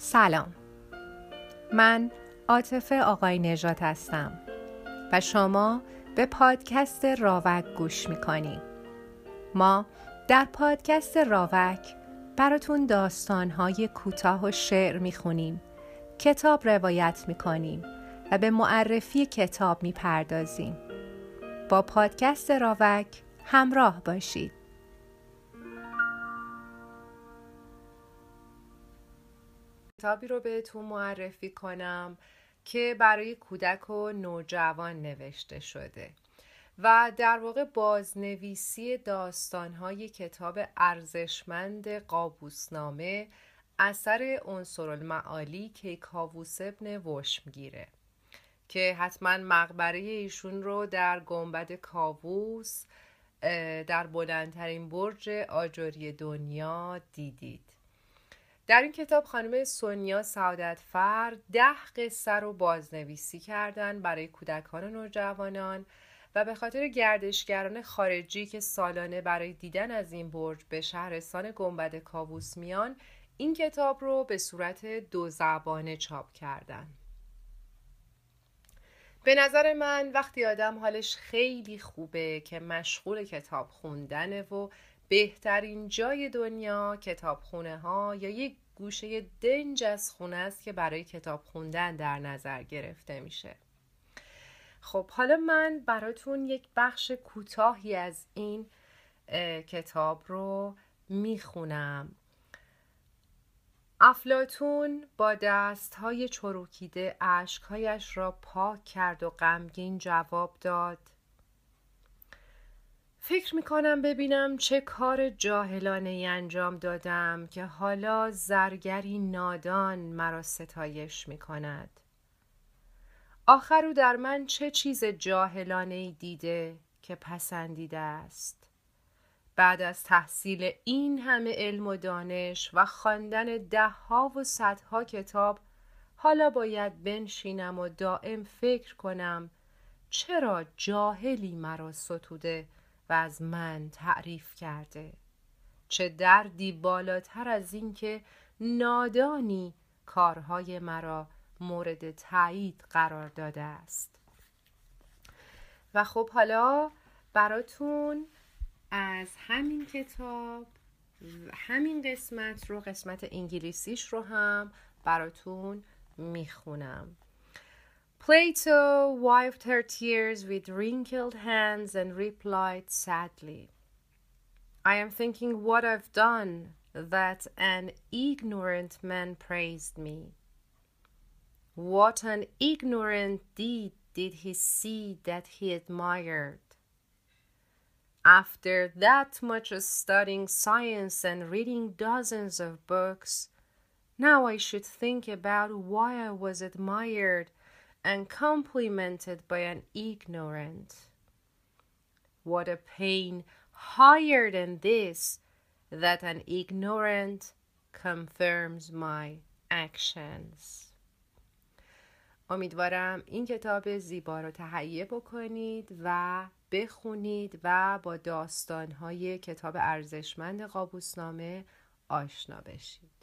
سلام، من عاطفه آقای نژاد هستم و شما به پادکست راوک گوش میکنید. ما در پادکست راوک براتون داستانهای کوتاه و شعر میخونیم، کتاب روایت میکنیم و به معرفی کتاب میپردازیم. با پادکست راوک همراه باشید. کتابی رو بهتون معرفی کنم که برای کودک و نوجوان نوشته شده و در واقع بازنویسی داستان‌های کتاب ارزشمند قابوسنامه اثر عنصرالمعالی کیکاووس ابن وشمگیره که حتما مقبره ایشون رو در گنبد کاووس در بلندترین برج آجری دنیا دیدید. در این کتاب خانم سونیا سعادتفر 10 قصه رو بازنویسی کردن برای کودکان و نوجوانان و به خاطر گردشگران خارجی که سالانه برای دیدن از این برج به شهرستان گنبد کاووس میان، این کتاب رو به صورت 2 زبانه چاپ کردن. به نظر من وقتی آدم حالش خیلی خوبه که مشغول کتاب خوندنه و بهترین جای دنیا کتابخونه ها یا یک گوشه دنج از خونه است که برای کتاب خوندن در نظر گرفته میشه. خب حالا من براتون یک بخش کوتاهی از این کتاب رو میخونم. افلاطون با دستهای چروکیده اشکهایش را پاک کرد و غمگین جواب داد: فکر میکنم ببینم چه کار جاهلانه‌ای انجام دادم که حالا زرگری نادان مرا ستایش میکند. آخر او در من چه چیز جاهلانه‌ای دیده که پسندیده است؟ بعد از تحصیل این همه علم و دانش و خواندن 10 و 100 کتاب، حالا باید بنشینم و دائم فکر کنم چرا جاهلی مرا ستوده و از من تعریف کرده؟ چه دردی بالاتر از این که نادانی کارهای مرا مورد تایید قرار داده است. و خب حالا براتون از همین کتاب همین قسمت انگلیسیش رو هم براتون میخونم. Plato wiped her tears with wrinkled hands and replied sadly, I am thinking what I've done that an ignorant man praised me. What an ignorant deed did he see that he admired? After that much studying science and reading dozens of books, now I should think about why I was admired and complimented by an ignorant. What a pain higher than this, that an ignorant confirms my actions. امیدوارم این کتاب زیبا رو تهیه بکنید و بخونید و با داستان‌های کتاب ارزشمند قابوسنامه آشنا بشید.